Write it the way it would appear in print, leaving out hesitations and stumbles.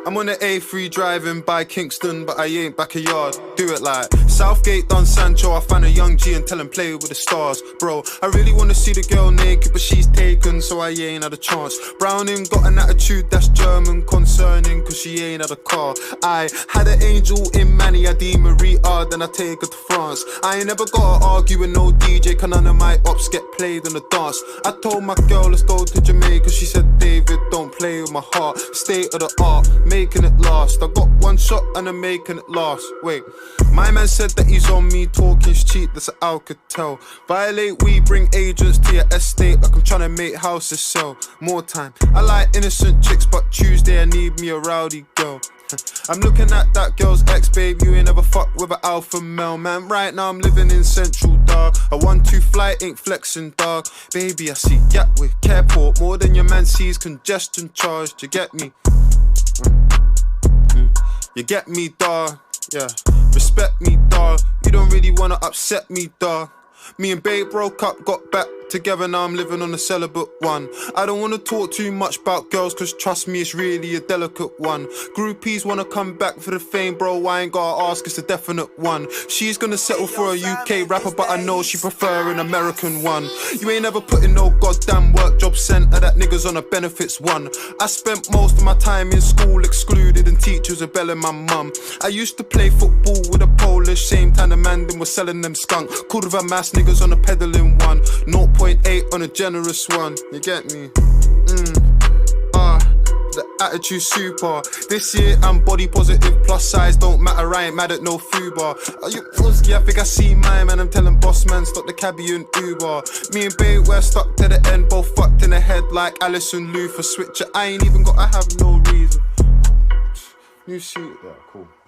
I'm on the A3 driving by Kingston, but I ain't backyard. Do it like Southgate done Sancho. I find a young G and tell him play with the stars. Bro, I really wanna see the girl naked, but she's taken, so I ain't had a chance. Browning got an attitude that's German concerning, cause she ain't had a car. I had an angel in Manny, I deem Maria, then I take her to France. I ain't never gotta argue with no DJ, cause none of my ops get played on the dance. I told my girl let's go to Jamaica, she said David don't play with my heart. State of the art, making it last. I got one shot and I'm making it last. Wait, my man said that he's on me, talking's cheap, that's what Alcatel. Violate, we bring agents to your estate like I'm trying to make houses sell. More time, I like innocent chicks, but Tuesday I need me a rowdy girl. I'm looking at that girl's ex, babe, you ain't never fucked with an alpha male, man. Right now I'm living in Central, dog. A 1-2 flight ain't flexing, dog. Baby, I see Gatwick Airport more than your man sees congestion charged. You get me? You get me, dog. Yeah, respect me, dog. You don't really wanna upset me, dog. Me and babe broke up, got back together, now I'm living on a celibate one. I don't wanna talk too much about girls, cause trust me, it's really a delicate one. Groupies wanna come back for the fame, bro, I ain't gotta ask, it's a definite one. She's gonna settle for a UK rapper, but I know she prefer an American one. You ain't ever put in no goddamn work, job centre, that nigga's on a benefits one. I spent most of my time in school excluded, and teachers rebelling my mum. I used to play football with a Polish, same time the man them was selling them skunk. Called with a mass niggas on a peddling one. 0.8 on a generous one, you get me? The attitude super. This year I'm body positive, plus size don't matter, I ain't mad at no fubar. Are you Uski? I think I see my man, I'm telling boss man stop the cabbie and Uber. Me and babe we're stuck to the end, both fucked in the head like Alison Luther. Switcher, I ain't even gotta have no reason. New suit, yeah, cool.